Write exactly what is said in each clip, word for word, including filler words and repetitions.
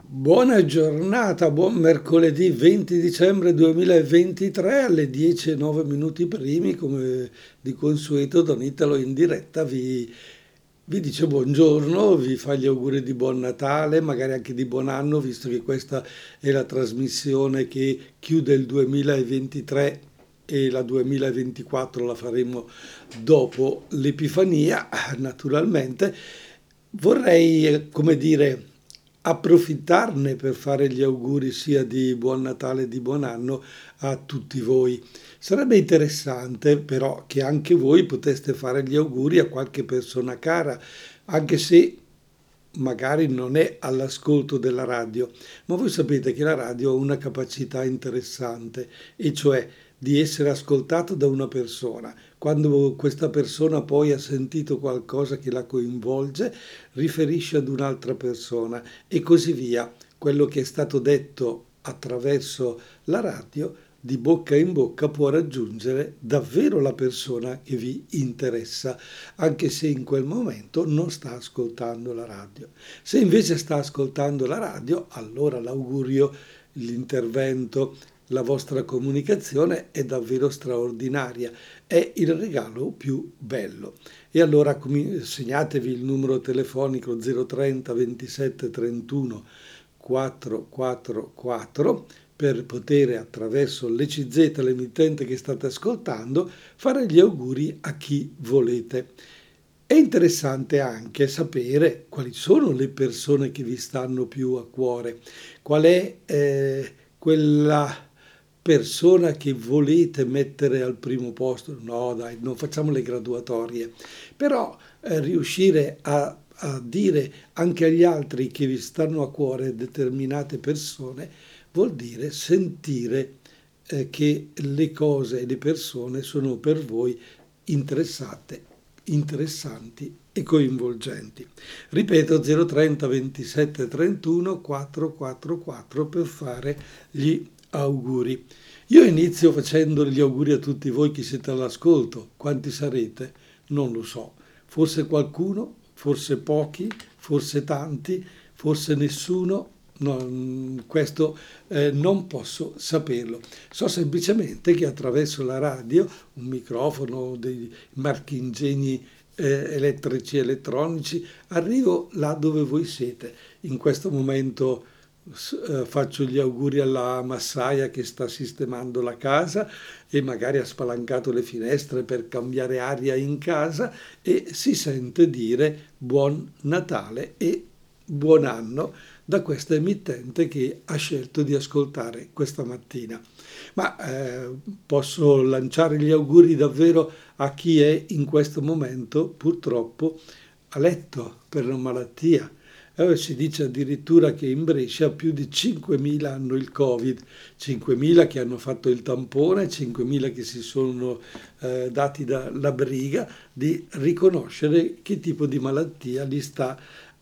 Buona giornata, buon mercoledì venti dicembre duemilaventitré alle dieci e nove minuti primi, come di consueto Don Italo in diretta vi, vi dice buongiorno, vi fa gli auguri di buon Natale, magari anche di buon anno, visto che questa è la trasmissione che chiude il duemilaventitré e la duemilaventiquattro la faremo dopo l'Epifania, naturalmente. Vorrei, eh, come dire, approfittarne per fare gli auguri sia di buon Natale e di buon anno a tutti voi. Sarebbe interessante però che anche voi poteste fare gli auguri a qualche persona cara, anche se magari non è all'ascolto della radio, ma voi sapete che la radio ha una capacità interessante, e cioè di essere ascoltato da una persona. Quando questa persona poi ha sentito qualcosa che la coinvolge, riferisce ad un'altra persona e così via. Quello che è stato detto attraverso la radio, di bocca in bocca, può raggiungere davvero la persona che vi interessa, anche se in quel momento non sta ascoltando la radio. Se invece sta ascoltando la radio, allora l'augurio, l'intervento, la vostra comunicazione è davvero straordinaria, è il regalo più bello. E allora com- segnatevi il numero telefonico zero trenta ventisette trentuno quattrocentoquarantaquattro per poter, attraverso l'E C Z, l'emittente che state ascoltando, fare gli auguri a chi volete. È interessante anche sapere quali sono le persone che vi stanno più a cuore, qual è eh, quella persona che volete mettere al primo posto. No, dai, non facciamo le graduatorie, però eh, riuscire a, a dire anche agli altri che vi stanno a cuore determinate persone vuol dire sentire eh, che le cose e le persone sono per voi interessate, interessanti e coinvolgenti. Ripeto, zero trenta ventisette trentuno quattrocentoquarantaquattro per fare gli auguri. Io inizio facendo gli auguri a tutti voi che siete all'ascolto. Quanti sarete? Non lo so. Forse qualcuno, forse pochi, forse tanti, forse nessuno. No, questo eh, non posso saperlo. So semplicemente che attraverso la radio, un microfono, dei marchingegni eh, elettrici e elettronici, arrivo là dove voi siete. In questo momento eh, faccio gli auguri alla massaia che sta sistemando la casa e magari ha spalancato le finestre per cambiare aria in casa, e si sente dire buon Natale e buon anno da questa emittente che ha scelto di ascoltare questa mattina. Ma eh, posso lanciare gli auguri davvero a chi è in questo momento purtroppo a letto per una malattia. Eh, si dice addirittura che in Brescia più di cinquemila hanno il Covid, cinquemila che hanno fatto il tampone, cinquemila che si sono eh, dati da, la briga di riconoscere che tipo di malattia li sta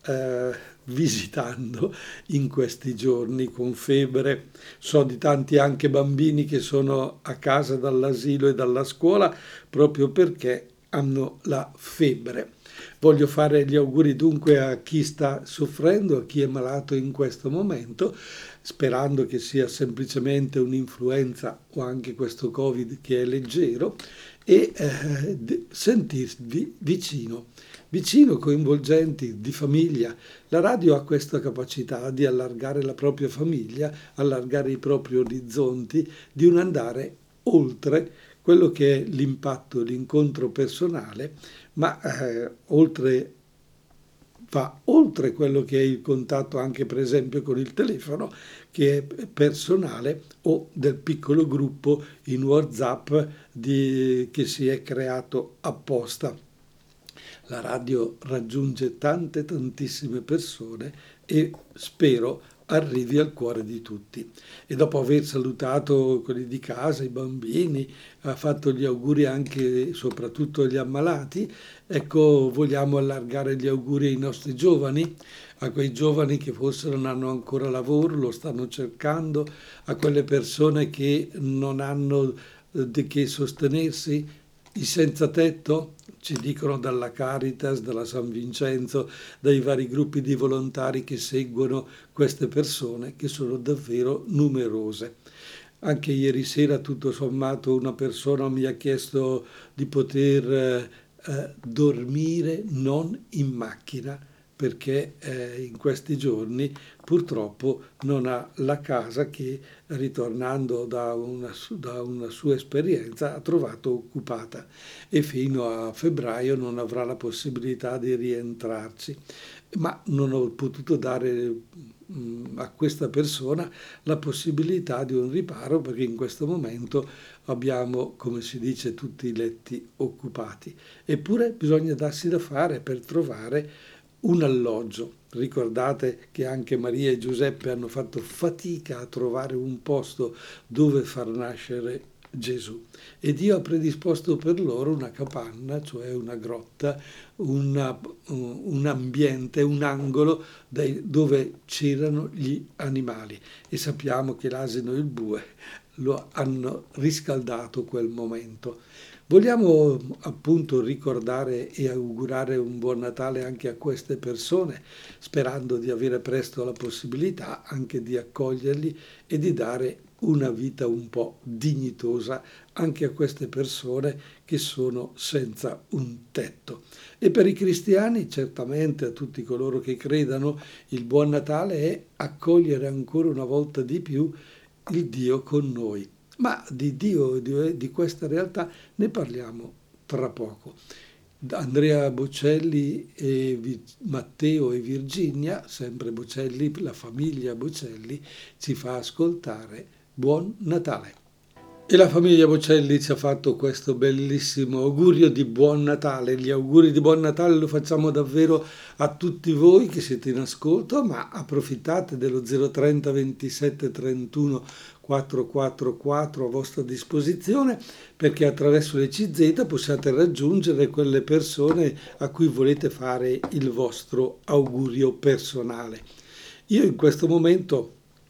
eh, visitando in questi giorni con febbre. So di tanti anche bambini che sono a casa dall'asilo e dalla scuola proprio perché hanno la febbre. Voglio fare gli auguri dunque a chi sta soffrendo, a chi è malato in questo momento, sperando che sia semplicemente un'influenza o anche questo Covid che è leggero, e eh, sentirvi vicino, vicino, coinvolgenti, di famiglia. La radio ha questa capacità di allargare la propria famiglia, allargare i propri orizzonti, di un andare oltre quello che è l'impatto, l'incontro personale, ma eh, oltre, va oltre quello che è il contatto anche per esempio con il telefono, che è personale, o del piccolo gruppo in WhatsApp di, che si è creato apposta. La radio raggiunge tante, tantissime persone e spero arrivi al cuore di tutti. E dopo aver salutato quelli di casa, i bambini, ha fatto gli auguri anche e soprattutto agli ammalati, ecco, vogliamo allargare gli auguri ai nostri giovani, a quei giovani che forse non hanno ancora lavoro, lo stanno cercando, a quelle persone che non hanno eh, di che sostenersi, i senza tetto. ci dicono dalla Caritas, dalla San Vincenzo, dai vari gruppi di volontari che seguono queste persone, che sono davvero numerose. Anche ieri sera, tutto sommato, una persona mi ha chiesto di poter eh, eh, dormire non in macchina, perché eh, in questi giorni purtroppo non ha la casa che, ritornando da una, su- da una sua esperienza, ha trovato occupata e fino a febbraio non avrà la possibilità di rientrarci. Ma non ho potuto dare mh, a questa persona la possibilità di un riparo, perché in questo momento abbiamo, come si dice, tutti i letti occupati. Eppure bisogna darsi da fare per trovare un alloggio. Ricordate che anche Maria e Giuseppe hanno fatto fatica a trovare un posto dove far nascere Gesù, e Dio ha predisposto per loro una capanna, cioè una grotta, una- un ambiente, un angolo dai- dove c'erano gli animali, e sappiamo che l'asino e il bue lo hanno riscaldato quel momento. Vogliamo appunto ricordare e augurare un buon Natale anche a queste persone, sperando di avere presto la possibilità anche di accoglierli e di dare una vita un po' dignitosa anche a queste persone che sono senza un tetto. E per i cristiani, certamente, a tutti coloro che credano, il buon Natale è accogliere ancora una volta di più il Dio con noi. Ma di Dio, di, di questa realtà, ne parliamo tra poco. Andrea Bocelli e Vi- Matteo e Virginia, sempre Bocelli, la famiglia Bocelli, ci fa ascoltare Buon Natale. E la famiglia Bocelli ci ha fatto questo bellissimo augurio di buon Natale. Gli auguri di buon Natale lo facciamo davvero a tutti voi che siete in ascolto, ma approfittate dello zero trenta ventisette trentuno quattrocentoquarantaquattro a vostra disposizione, perché attraverso le C Z possiate raggiungere quelle persone a cui volete fare il vostro augurio personale. Io in questo momento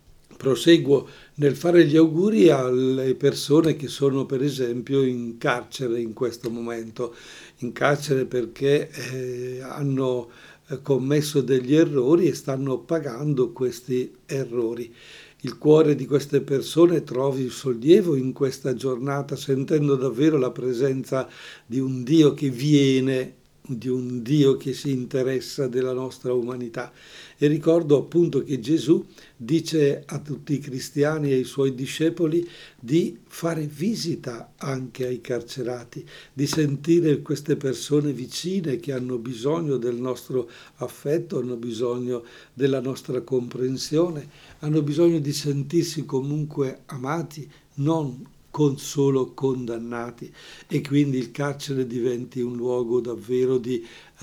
proseguo nel fare gli auguri alle persone che sono per esempio in carcere in questo momento, in carcere perché eh, hanno eh, commesso degli errori e stanno pagando questi errori. Il cuore di queste persone trovi sollievo in questa giornata, sentendo davvero la presenza di un Dio che viene, di un Dio che si interessa della nostra umanità. E ricordo appunto che Gesù dice a tutti i cristiani e ai suoi discepoli di fare visita anche ai carcerati, di sentire queste persone vicine che hanno bisogno del nostro affetto, hanno bisogno della nostra comprensione, hanno bisogno di sentirsi comunque amati, non con solo condannati, e quindi il carcere diventi un luogo davvero di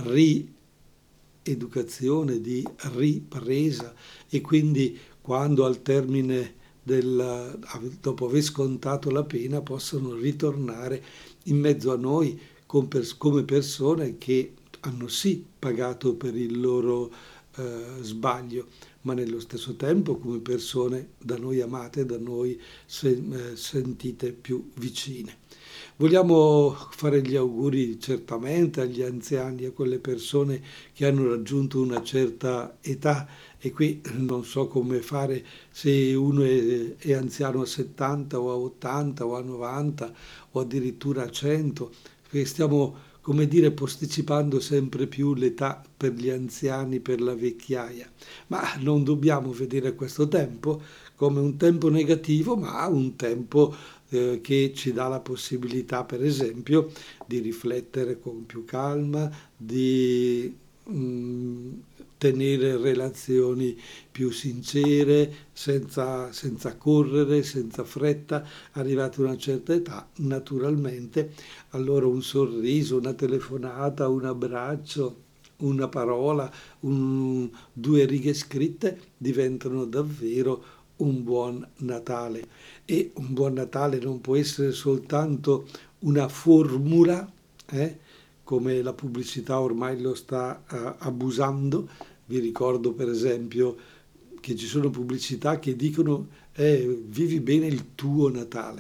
rieducazione, di ripresa, e quindi quando al termine del, dopo aver scontato la pena, possono ritornare in mezzo a noi come persone che hanno sì pagato per il loro eh, sbaglio, ma nello stesso tempo come persone da noi amate, da noi sen- eh, sentite più vicine. Vogliamo fare gli auguri certamente agli anziani, a quelle persone che hanno raggiunto una certa età, e qui non so come fare se uno è, è anziano a settanta o a ottanta o a novanta o addirittura a cento, perché stiamo, come dire, posticipando sempre più l'età per gli anziani, per la vecchiaia. Ma non dobbiamo vedere questo tempo come un tempo negativo, ma un tempo eh, che ci dà la possibilità, per esempio, di riflettere con più calma, di mh, tenere relazioni più sincere, senza, senza correre, senza fretta. Arrivati a una certa età, naturalmente, allora un sorriso, una telefonata, un abbraccio, una parola, un, due righe scritte diventano davvero un buon Natale. E un buon Natale non può essere soltanto una formula, eh, come la pubblicità ormai lo sta uh, abusando. Vi ricordo per esempio che ci sono pubblicità che dicono eh, vivi bene il tuo Natale,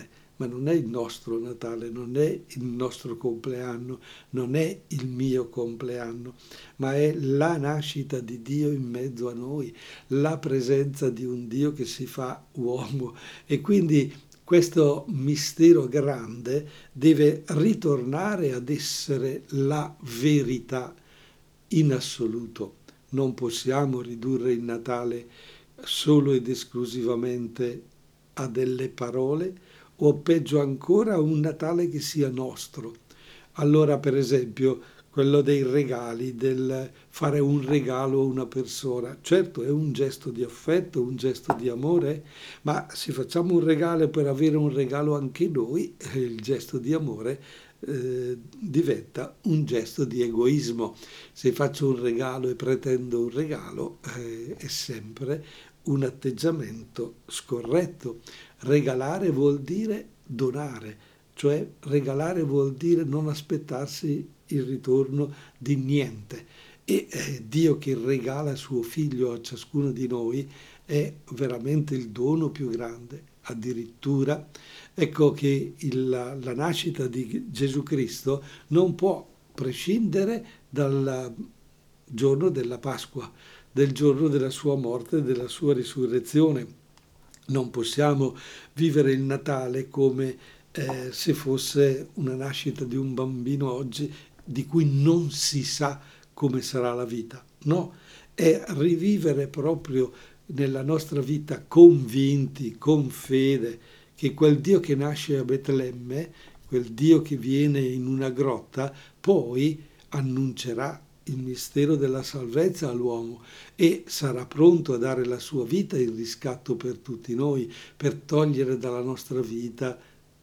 ma non è il nostro Natale, non è il nostro compleanno, non è il mio compleanno, ma è la nascita di Dio in mezzo a noi, la presenza di un Dio che si fa uomo. E quindi questo mistero grande deve ritornare ad essere la verità in assoluto. Non possiamo ridurre il Natale solo ed esclusivamente a delle parole o peggio ancora a un Natale che sia nostro. Allora, per esempio, quello dei regali, del fare un regalo a una persona. Certo, è un gesto di affetto, un gesto di amore, ma se facciamo un regalo per avere un regalo anche noi, eh, il gesto di amore eh, diventa un gesto di egoismo. Se faccio un regalo e pretendo un regalo, eh, è sempre un atteggiamento scorretto. Regalare vuol dire donare, cioè regalare vuol dire non aspettarsi il ritorno di niente. E eh, Dio che regala suo figlio a ciascuno di noi è veramente il dono più grande. Addirittura, ecco che il, la, la nascita di Gesù Cristo non può prescindere dal giorno della Pasqua, del giorno della sua morte e della sua risurrezione. Non possiamo vivere il Natale come eh, se fosse una nascita di un bambino oggi di cui non si sa come sarà la vita. No, è rivivere proprio nella nostra vita convinti, con fede, che quel Dio che nasce a Betlemme, quel Dio che viene in una grotta, poi annuncerà il mistero della salvezza all'uomo e sarà pronto a dare la sua vita in riscatto per tutti noi, per togliere dalla nostra vita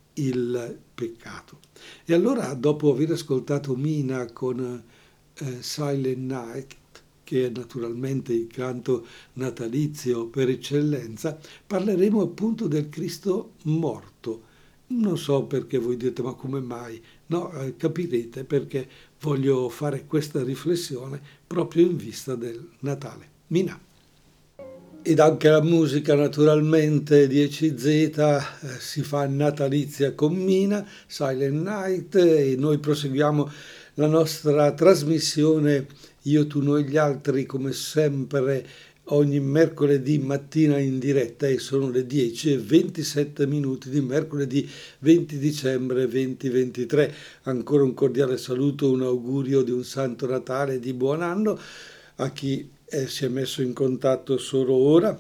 il peccato. E allora, dopo aver ascoltato Mina con eh, Silent Night, che è naturalmente il canto natalizio per eccellenza, parleremo appunto del Cristo morto. Non so perché voi dite, ma come mai? No, eh, capirete perché voglio fare questa riflessione proprio in vista del Natale. Mina. Ed anche la musica naturalmente di E C Z eh, si fa natalizia con Mina, Silent Night, e noi proseguiamo la nostra trasmissione Io, tu, noi, gli altri, come sempre ogni mercoledì mattina in diretta, e sono le dieci e ventisette minuti di mercoledì venti dicembre duemilaventitré. Ancora un cordiale saluto, un augurio di un Santo Natale e di buon anno a chi eh, si è messo in contatto solo ora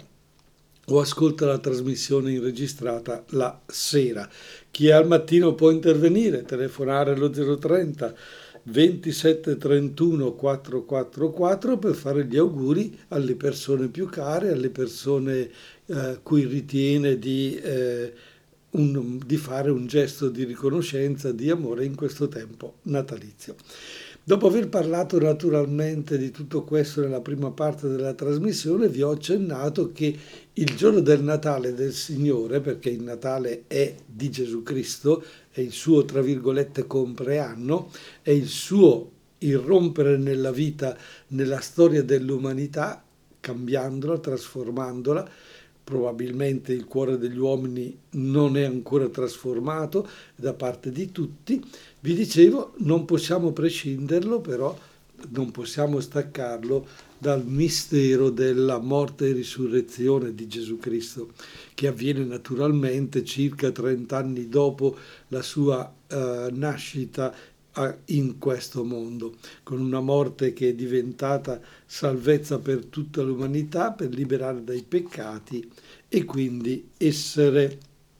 o ascolta la trasmissione registrata la sera. Chi è al mattino può intervenire, telefonare allo zero trenta ventisette trentuno quattrocentoquarantaquattro per fare gli auguri alle persone più care, alle persone eh, cui ritiene di, eh, un, di fare un gesto di riconoscenza, di amore in questo tempo natalizio. Dopo aver parlato naturalmente di tutto questo nella prima parte della trasmissione, vi ho accennato che il giorno del Natale del Signore, perché il Natale è di Gesù Cristo, è il suo, tra virgolette, compleanno, è il suo irrompere nella vita, nella storia dell'umanità, cambiandola, trasformandola. Probabilmente il cuore degli uomini non è ancora trasformato da parte di tutti. Vi dicevo, non possiamo prescinderlo, però non possiamo staccarlo dal mistero della morte e risurrezione di Gesù Cristo, che avviene naturalmente circa trenta anni dopo la sua eh, nascita in questo mondo, con una morte che è diventata salvezza per tutta l'umanità, per liberare dai peccati e quindi essere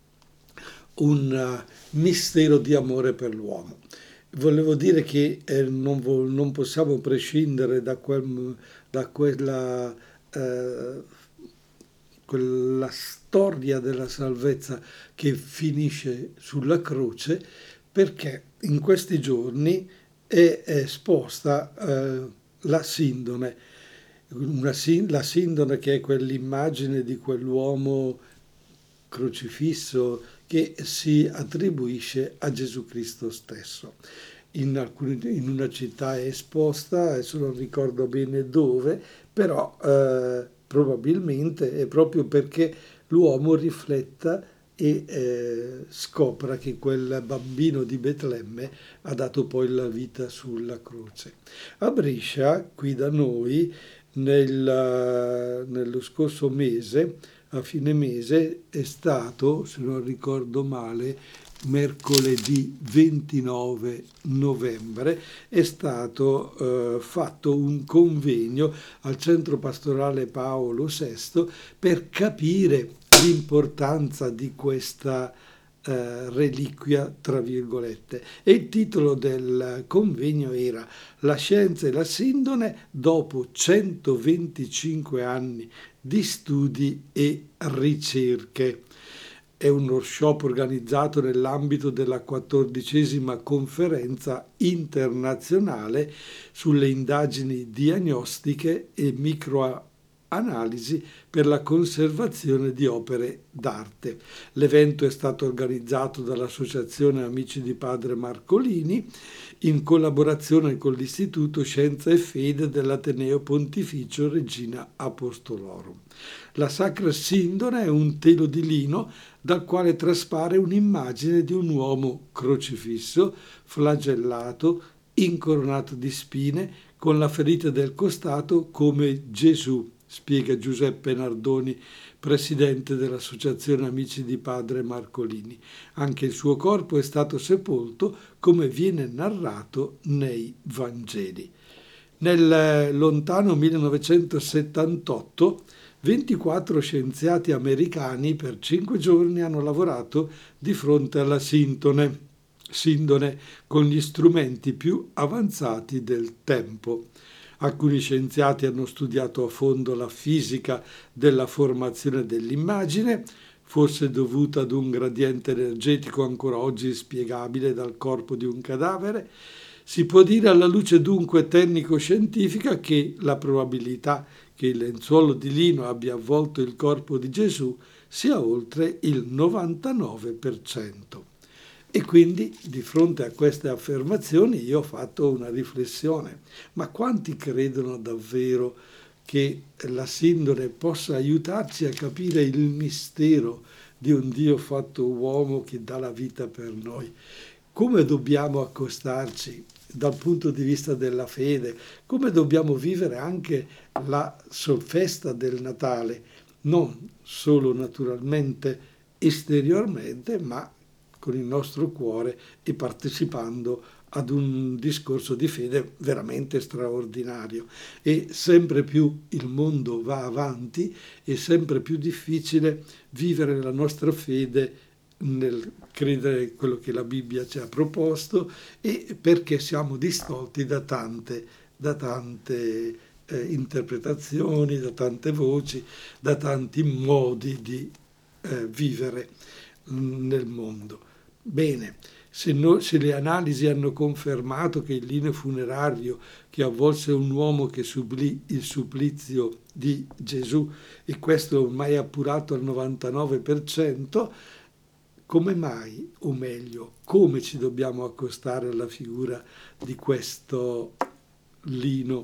un mistero di amore per l'uomo. Volevo dire che eh, non, vo- non possiamo prescindere da, quel, da quella, eh, quella storia della salvezza che finisce sulla croce, perché in questi giorni è esposta eh, la sindone, una, la sindone che è quell'immagine di quell'uomo crocifisso che si attribuisce a Gesù Cristo stesso. In, alcuni, in una città è esposta, adesso non ricordo bene dove, però eh, probabilmente è proprio perché l'uomo rifletta e eh, scopra che quel bambino di Betlemme ha dato poi la vita sulla croce. A Brescia, qui da noi, nel, nello scorso mese, a fine mese, è stato, se non ricordo male, mercoledì ventinove novembre, è stato eh, fatto un convegno al Centro Pastorale Paolo sesto per capire l'importanza di questa eh, reliquia, tra virgolette. E il titolo del convegno era La scienza e la sindone dopo centoventicinque anni di studi e ricerche. È un workshop organizzato nell'ambito della quattordicesima conferenza internazionale sulle indagini diagnostiche e microanalisi per la conservazione di opere d'arte. L'evento è stato organizzato dall'Associazione Amici di Padre Marcolini in collaborazione con l'Istituto Scienza e Fede dell'Ateneo Pontificio Regina Apostolorum. La Sacra Sindone è un telo di lino dal quale traspare un'immagine di un uomo crocifisso, flagellato, incoronato di spine, con la ferita del costato come Gesù, spiega Giuseppe Nardoni, presidente dell'Associazione Amici di Padre Marcolini. Anche il suo corpo è stato sepolto come viene narrato nei Vangeli. Nel lontano millenovecentosettantotto ventiquattro scienziati americani per cinque giorni hanno lavorato di fronte alla sindone, sindone con gli strumenti più avanzati del tempo. Alcuni scienziati hanno studiato a fondo la fisica della formazione dell'immagine, forse dovuta ad un gradiente energetico ancora oggi inspiegabile dal corpo di un cadavere. Si può dire alla luce dunque tecnico-scientifica che la probabilità che il lenzuolo di lino abbia avvolto il corpo di Gesù sia oltre il novantanove per cento. E quindi di fronte a queste affermazioni io ho fatto una riflessione. Ma quanti credono davvero che la sindone possa aiutarci a capire il mistero di un Dio fatto uomo che dà la vita per noi? Come dobbiamo accostarci dal punto di vista della fede? Come dobbiamo vivere anche la festa del Natale? Non solo naturalmente esteriormente, ma con il nostro cuore e partecipando ad un discorso di fede veramente straordinario. E sempre più il mondo va avanti e sempre più difficile vivere la nostra fede nel credere quello che la Bibbia ci ha proposto, e perché siamo distolti da tante, da tante eh, interpretazioni, da tante voci, da tanti modi di eh, vivere nel mondo. Bene, se, no, se le analisi hanno confermato che il lino funerario che avvolse un uomo che subì il supplizio di Gesù, e questo è ormai appurato al novantanove per cento, come mai, o meglio, come ci dobbiamo accostare alla figura di questo lino,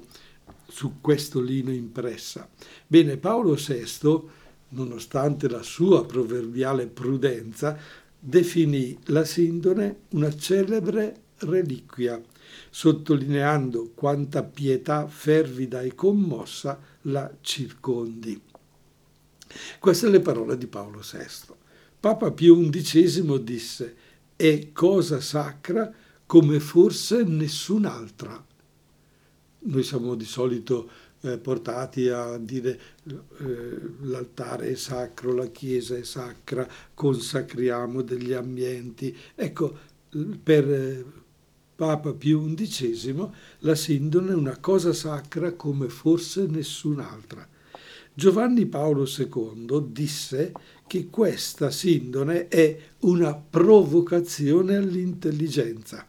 su questo lino impressa? Bene, Paolo sesto, nonostante la sua proverbiale prudenza, definì la sindone una celebre reliquia, sottolineando quanta pietà fervida e commossa la circondi. Queste le parole di Paolo sesto. Papa Pio undicesimo disse: è cosa sacra come forse nessun'altra. Noi siamo di solito eh, portati a dire eh, l'altare è sacro, la chiesa è sacra, consacriamo degli ambienti. Ecco, per eh, Papa Pio undicesimo la sindone è una cosa sacra come forse nessun'altra. Giovanni Paolo secondo disse che questa sindone è una provocazione all'intelligenza.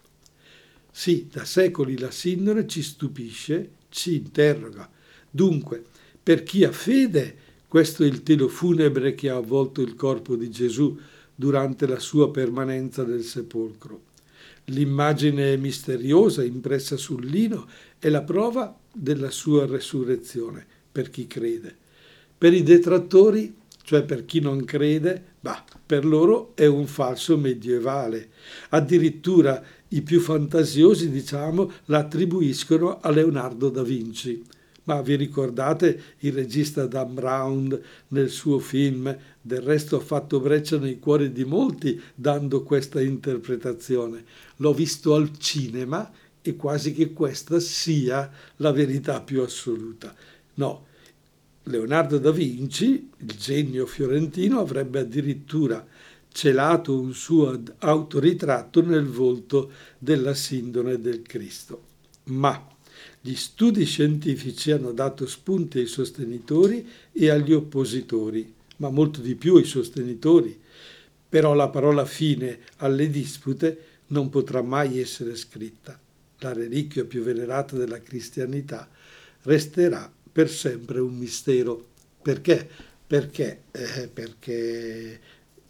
Sì, da secoli la sindone ci stupisce, ci interroga. Dunque, per chi ha fede, questo è il telo funebre che ha avvolto il corpo di Gesù durante la sua permanenza nel sepolcro. L'immagine misteriosa impressa sul lino è la prova della sua resurrezione, per chi crede. Per i detrattori cioè per chi non crede, bah, per loro è un falso medievale. Addirittura i più fantasiosi, diciamo, la attribuiscono a Leonardo da Vinci. Ma vi ricordate il regista Dan Brown nel suo film? Del resto ha fatto breccia nei cuori di molti dando questa interpretazione. L'ho visto al cinema e quasi che questa sia la verità più assoluta. No, Leonardo da Vinci, il genio fiorentino, avrebbe addirittura celato un suo autoritratto nel volto della sindone del Cristo. Ma gli studi scientifici hanno dato spunti ai sostenitori e agli oppositori, ma molto di più ai sostenitori. Però la parola fine alle dispute non potrà mai essere scritta. La reliquia più venerata della cristianità resterà per sempre un mistero. Perché? Perché? Eh, perché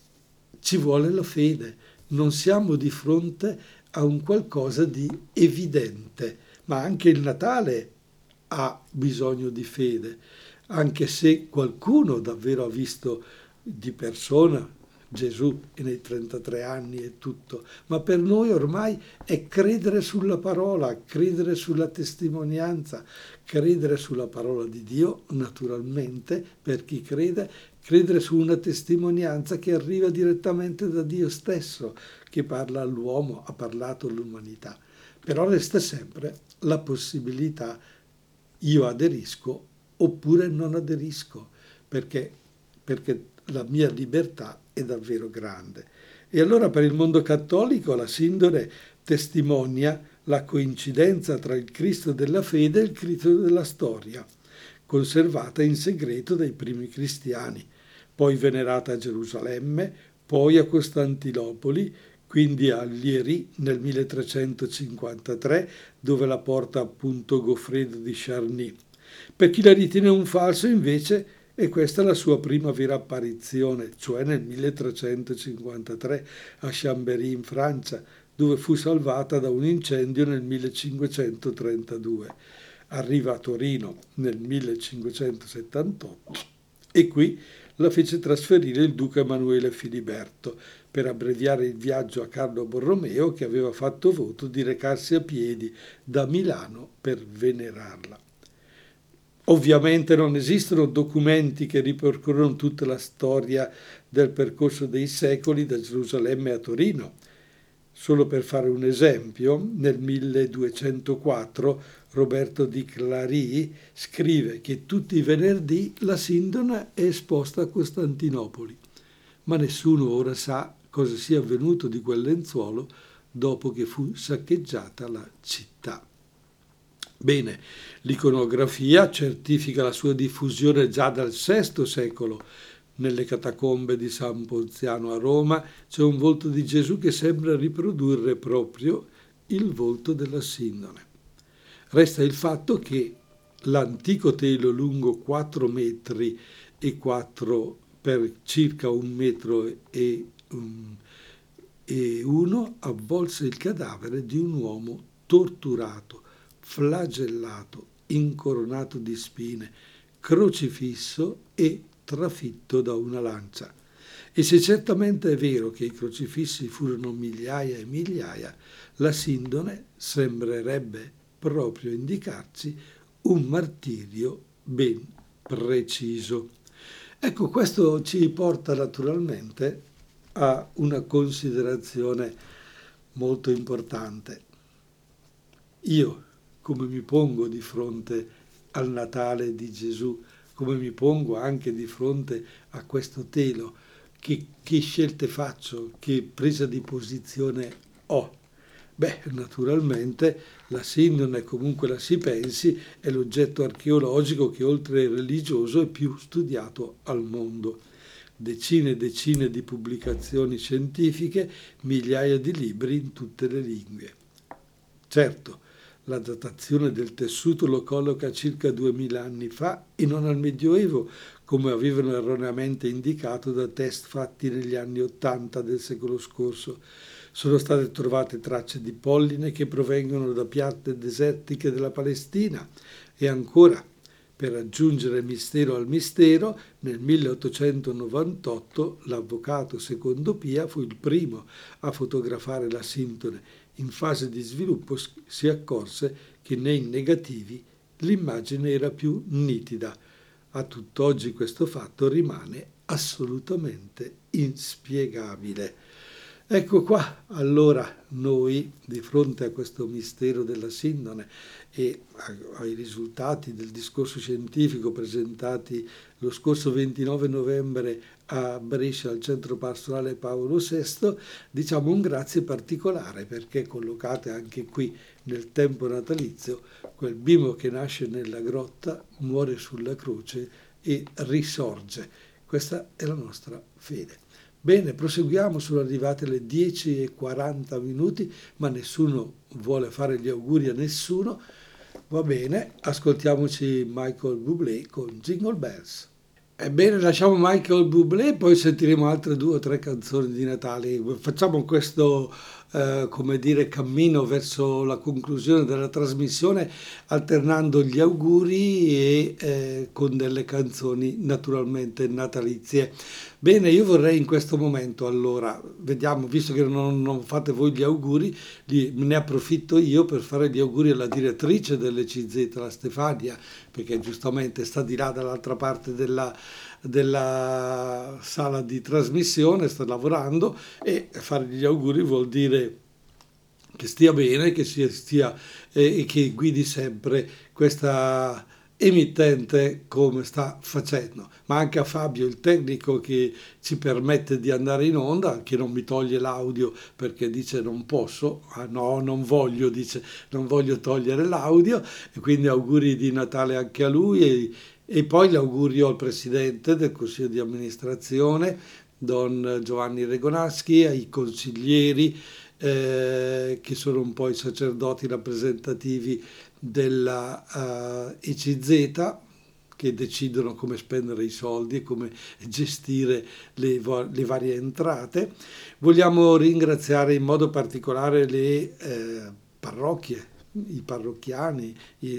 ci vuole la fede. Non siamo di fronte a un qualcosa di evidente, ma anche il Natale ha bisogno di fede, anche se qualcuno davvero ha visto di persona Gesù nei trentatré anni e tutto, ma per noi ormai è credere sulla parola, credere sulla testimonianza, credere sulla parola di Dio, naturalmente, per chi crede, credere su una testimonianza che arriva direttamente da Dio stesso, che parla all'uomo, ha parlato all'umanità. Però resta sempre la possibilità, io aderisco oppure non aderisco, perché, perché la mia libertà è davvero grande. E allora per il mondo cattolico la sindone testimonia la coincidenza tra il Cristo della fede e il Cristo della storia, conservata in segreto dai primi cristiani, poi venerata a Gerusalemme, poi a Costantinopoli, quindi a Lieri nel milletrecentocinquantatré, dove la porta appunto Goffredo di Charny. Per chi la ritiene un falso, invece, e questa è la sua prima vera apparizione, cioè nel milletrecentocinquantatré a Chambéry in Francia, dove fu salvata da un incendio nel millecinquecentotrentadue. Arriva a Torino nel millecinquecentosettantotto e qui la fece trasferire il duca Emanuele Filiberto per abbreviare il viaggio a Carlo Borromeo, che aveva fatto voto di recarsi a piedi da Milano per venerarla. Ovviamente non esistono documenti che ripercorrono tutta la storia del percorso dei secoli da Gerusalemme a Torino. Solo per fare un esempio, nel milleduecentoquattro Roberto di Clari scrive che tutti i venerdì la sindone è esposta a Costantinopoli, ma nessuno ora sa cosa sia avvenuto di quel lenzuolo dopo che fu saccheggiata la città. Bene, l'iconografia certifica la sua diffusione già dal sesto secolo. Nelle catacombe di San Ponziano a Roma c'è un volto di Gesù che sembra riprodurre proprio il volto della sindone. Resta il fatto che l'antico telo lungo quattro metri e quattro per circa un metro e, um, e uno avvolse il cadavere di un uomo torturato, flagellato, incoronato di spine, crocifisso e trafitto da una lancia. E se certamente è vero che i crocifissi furono migliaia e migliaia, la sindone sembrerebbe proprio indicarci un martirio ben preciso. Ecco, questo ci porta naturalmente a una considerazione molto importante. Io, come mi pongo di fronte al Natale di Gesù, come mi pongo anche di fronte a questo telo, che, che scelte faccio, che presa di posizione ho? Beh, naturalmente la sindone, comunque la si pensi, è l'oggetto archeologico che oltre al religioso è più studiato al mondo. Decine e decine di pubblicazioni scientifiche, migliaia di libri in tutte le lingue. Certo, la datazione del tessuto lo colloca circa duemila anni fa e non al Medioevo, come avevano erroneamente indicato da test fatti negli anni ottanta del secolo scorso. Sono state trovate tracce di polline che provengono da piante desertiche della Palestina e ancora Per aggiungere mistero al mistero, nel milleottocentonovantotto l'avvocato Secondo Pia fu il primo a fotografare la Sintone. In fase di sviluppo si accorse che nei negativi l'immagine era più nitida. A tutt'oggi questo fatto rimane assolutamente inspiegabile. Ecco qua, allora noi di fronte a questo mistero della Sindone e ai risultati del discorso scientifico presentati lo scorso ventinove novembre a Brescia al Centro Pastorale Paolo sesto, diciamo un grazie particolare perché collocate anche qui nel tempo natalizio, quel bimbo che nasce nella grotta, muore sulla croce e risorge. Questa è la nostra fede. Bene, proseguiamo, sono arrivate le dieci e quaranta minuti, ma nessuno vuole fare gli auguri a nessuno. Va bene, ascoltiamoci Michael Bublé con Jingle Bells. Ebbene, lasciamo Michael Bublé, poi sentiremo altre due o tre canzoni di Natale. Facciamo questo, eh, come dire, cammino verso la conclusione della trasmissione, alternando gli auguri e eh, con delle canzoni naturalmente natalizie. Bene, io vorrei in questo momento, allora, vediamo, visto che non, non fate voi gli auguri, li, ne approfitto io per fare gli auguri alla direttrice dell'E C Z, la Stefania, perché giustamente sta di là dall'altra parte della, della sala di trasmissione, sta lavorando, e fare gli auguri vuol dire che stia bene, che sia, stia eh, e che guidi sempre questa emittente come sta facendo, ma anche a Fabio, il tecnico che ci permette di andare in onda, che non mi toglie l'audio perché dice non posso, ah no, non voglio, dice non voglio togliere l'audio, e quindi auguri di Natale anche a lui, e, e poi l'augurio al presidente del Consiglio di amministrazione, Don Giovanni Regonaschi, ai consiglieri eh, che sono un po' i sacerdoti rappresentativi della uh, E C Z, che decidono come spendere i soldi e come gestire le, le varie entrate. Vogliamo ringraziare in modo particolare le eh, parrocchie, i parrocchiani,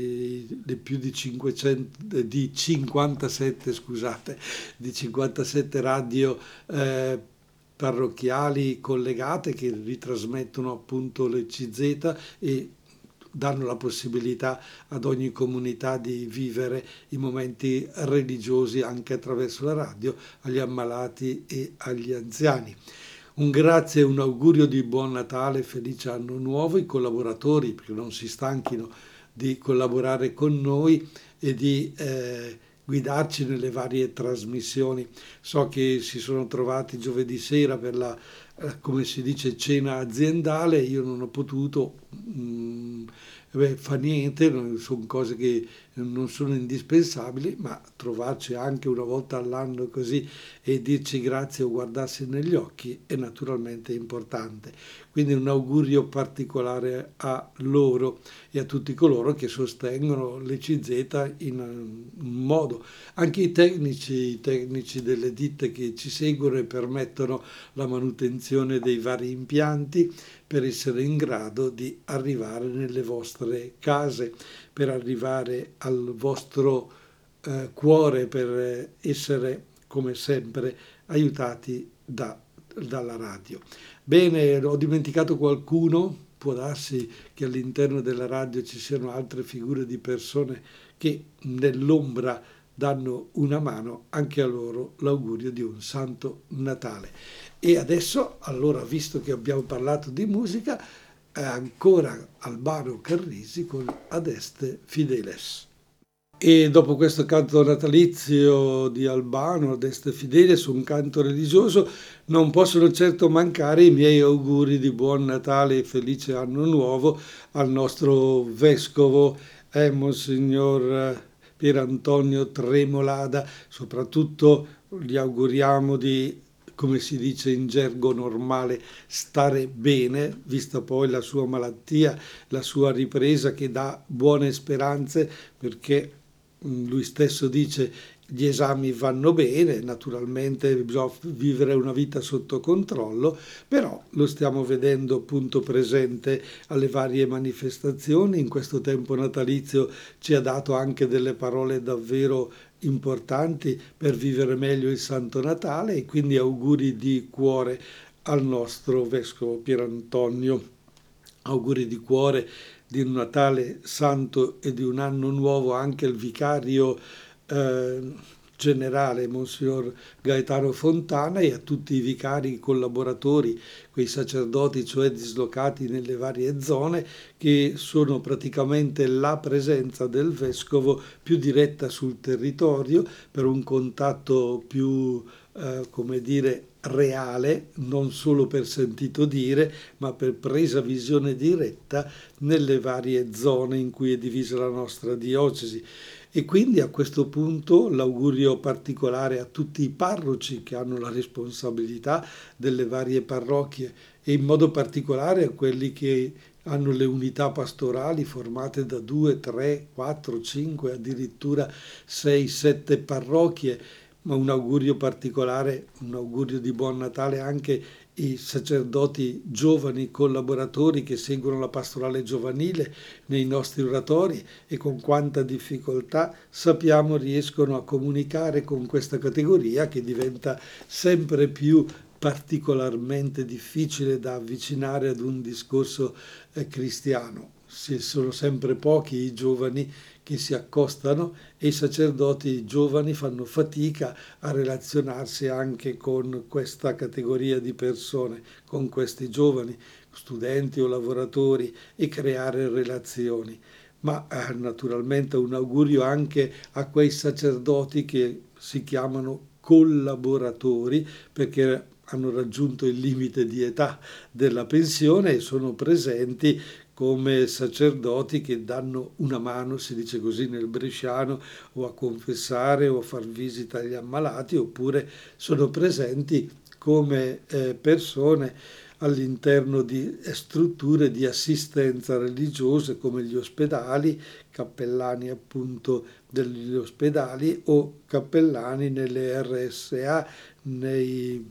i, le più di cinquecento, di cinquantasette, scusate, di cinquantasette radio eh, parrocchiali collegate che ritrasmettono appunto l'E C Z e danno la possibilità ad ogni comunità di vivere i momenti religiosi anche attraverso la radio, agli ammalati e agli anziani. Un grazie e un augurio di buon Natale, felice anno nuovo, i collaboratori, perché non si stanchino di collaborare con noi e di eh, guidarci nelle varie trasmissioni. So che si sono trovati giovedì sera per la, eh, come si dice, cena aziendale, io non ho potuto, mh, beh, fa niente, sono cose che non sono indispensabili, ma trovarci anche una volta all'anno così e dirci grazie o guardarsi negli occhi è naturalmente importante. Quindi un augurio particolare a loro e a tutti coloro che sostengono l'E C Z in un modo. Anche i tecnici, i tecnici delle ditte che ci seguono e permettono la manutenzione dei vari impianti per essere in grado di arrivare nelle vostre case, per arrivare al vostro eh, cuore, per essere come sempre aiutati da, dalla radio. Bene, ho dimenticato qualcuno? Può darsi che all'interno della radio ci siano altre figure di persone che nell'ombra danno una mano, anche a loro l'augurio di un Santo Natale. E adesso, allora, visto che abbiamo parlato di musica, eh, ancora Albano Carrisi con Adeste Fideles. E dopo questo canto natalizio di Albano, Adeste Fideles, un canto religioso, non possono certo mancare i miei auguri di buon Natale e felice anno nuovo al nostro vescovo, eh, Monsignor Pier Antonio Tremolada. Soprattutto gli auguriamo di, come si dice in gergo normale, stare bene, vista poi la sua malattia, la sua ripresa che dà buone speranze, perché lui stesso dice gli esami vanno bene, naturalmente bisogna vivere una vita sotto controllo, però lo stiamo vedendo appunto presente alle varie manifestazioni. In questo tempo natalizio ci ha dato anche delle parole davvero importanti per vivere meglio il Santo Natale, e quindi auguri di cuore al nostro Vescovo Pierantonio. Auguri di cuore di un Natale santo e di un anno nuovo anche al vicario eh, generale, Monsignor Gaetano Fontana, e a tutti i vicari collaboratori, quei sacerdoti cioè dislocati nelle varie zone, che sono praticamente la presenza del Vescovo più diretta sul territorio, per un contatto più, eh, come dire, reale, non solo per sentito dire, ma per presa visione diretta nelle varie zone in cui è divisa la nostra diocesi. E quindi a questo punto l'augurio particolare a tutti i parroci che hanno la responsabilità delle varie parrocchie, e in modo particolare a quelli che hanno le unità pastorali formate da due, tre, quattro, cinque, addirittura sei, sette parrocchie. Ma un augurio particolare, un augurio di buon Natale anche ai sacerdoti giovani collaboratori che seguono la pastorale giovanile nei nostri oratori, e con quanta difficoltà sappiamo riescono a comunicare con questa categoria, che diventa sempre più particolarmente difficile da avvicinare ad un discorso eh, cristiano. Si sono sempre pochi i giovani che si accostano, e i sacerdoti giovani fanno fatica a relazionarsi anche con questa categoria di persone, con questi giovani, studenti o lavoratori, e creare relazioni. Ma eh, naturalmente un augurio anche a quei sacerdoti che si chiamano collaboratori, perché hanno raggiunto il limite di età della pensione e sono presenti come sacerdoti che danno una mano, si dice così nel bresciano, o a confessare o a far visita agli ammalati, oppure sono presenti come eh, persone all'interno di strutture di assistenza religiose come gli ospedali, cappellani appunto degli ospedali o cappellani nelle R S A, nei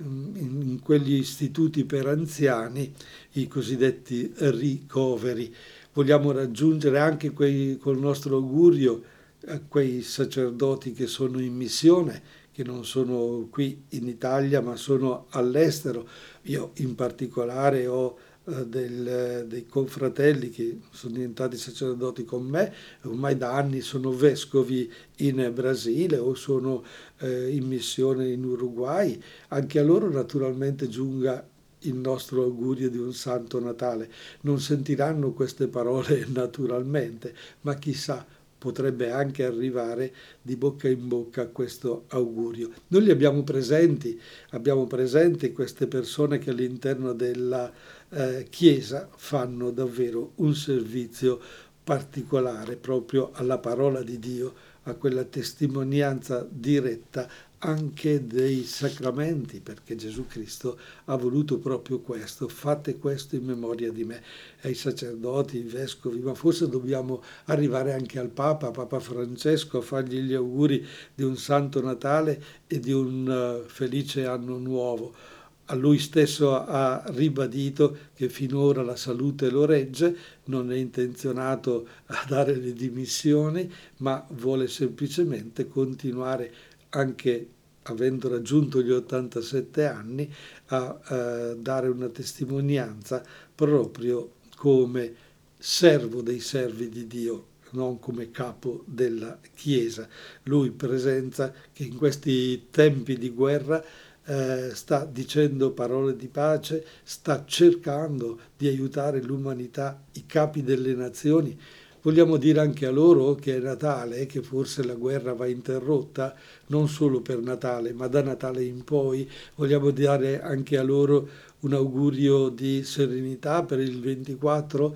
in quegli istituti per anziani, i cosiddetti ricoveri. Vogliamo raggiungere anche quei, col nostro augurio a quei sacerdoti che sono in missione, che non sono qui in Italia ma sono all'estero. Io in particolare ho eh, del, dei confratelli che sono diventati sacerdoti con me, ormai da anni sono vescovi in Brasile o sono eh, in missione in Uruguay. Anche a loro naturalmente giunga il nostro augurio di un Santo Natale. Non sentiranno queste parole naturalmente, ma chissà, potrebbe anche arrivare di bocca in bocca questo augurio. Noi li abbiamo presenti, abbiamo presenti queste persone che all'interno della eh, Chiesa fanno davvero un servizio particolare proprio alla parola di Dio, a quella testimonianza diretta anche dei sacramenti, perché Gesù Cristo ha voluto proprio questo: fate questo in memoria di me. Ai sacerdoti, ai vescovi, ma forse dobbiamo arrivare anche al Papa, Papa Francesco, a fargli gli auguri di un Santo Natale e di un uh, felice anno nuovo. A lui stesso ha ribadito che finora la salute lo regge, non è intenzionato a dare le dimissioni, ma vuole semplicemente continuare, anche avendo raggiunto gli ottantasette anni, a eh, dare una testimonianza proprio come servo dei servi di Dio, non come capo della Chiesa. Lui presenza che in questi tempi di guerra eh, sta dicendo parole di pace, sta cercando di aiutare l'umanità, i capi delle nazioni. Vogliamo dire anche a loro che è Natale, che forse la guerra va interrotta, non solo per Natale, ma da Natale in poi. Vogliamo dare anche a loro un augurio di serenità per il ventiquattro.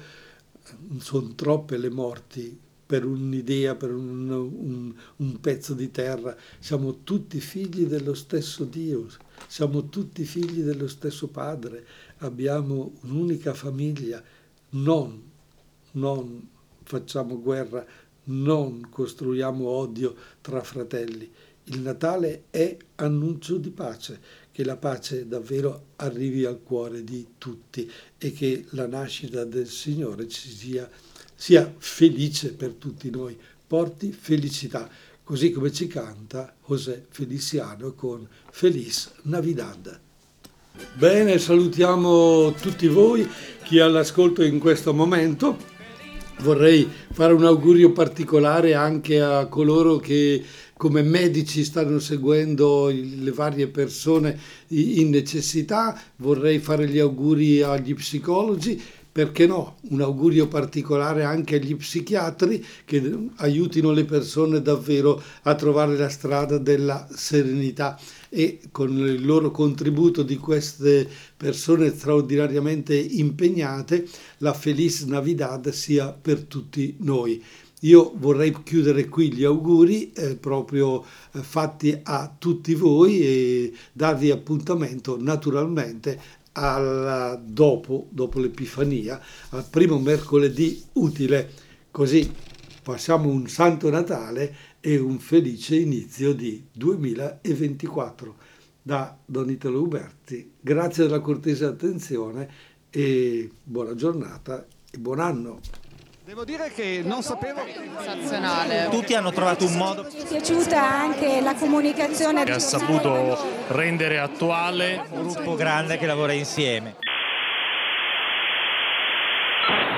Sono troppe le morti per un'idea, per un, un, un pezzo di terra. Siamo tutti figli dello stesso Dio, siamo tutti figli dello stesso Padre, abbiamo un'unica famiglia. Non, non facciamo guerra non costruiamo odio tra fratelli. Il Natale è annuncio di pace, che la pace davvero arrivi al cuore di tutti e che la nascita del Signore ci sia, sia felice per tutti noi, porti felicità, così come ci canta José Feliciano con Feliz Navidad. Bene, salutiamo tutti voi, chi è all'ascolto in questo momento. Vorrei fare un augurio particolare anche a coloro che come medici stanno seguendo le varie persone in necessità. Vorrei fare gli auguri agli psicologi, perché no, un augurio particolare anche agli psichiatri che aiutino le persone davvero a trovare la strada della serenità, e con il loro contributo di queste persone straordinariamente impegnate la Feliz Navidad sia per tutti noi. Io vorrei chiudere qui gli auguri eh, proprio eh, fatti a tutti voi e darvi appuntamento naturalmente al, dopo, dopo l'Epifania, al primo mercoledì utile, così passiamo un Santo Natale e un felice inizio di duemilaventiquattro. Da Don Italo Uberti, grazie della cortese attenzione e buona giornata e buon anno. Devo dire che non sapevo. Sensazionale. Tutti hanno trovato un modo. Mi è piaciuta anche la comunicazione. Che ha saputo rendere attuale Un gruppo grande che lavora insieme.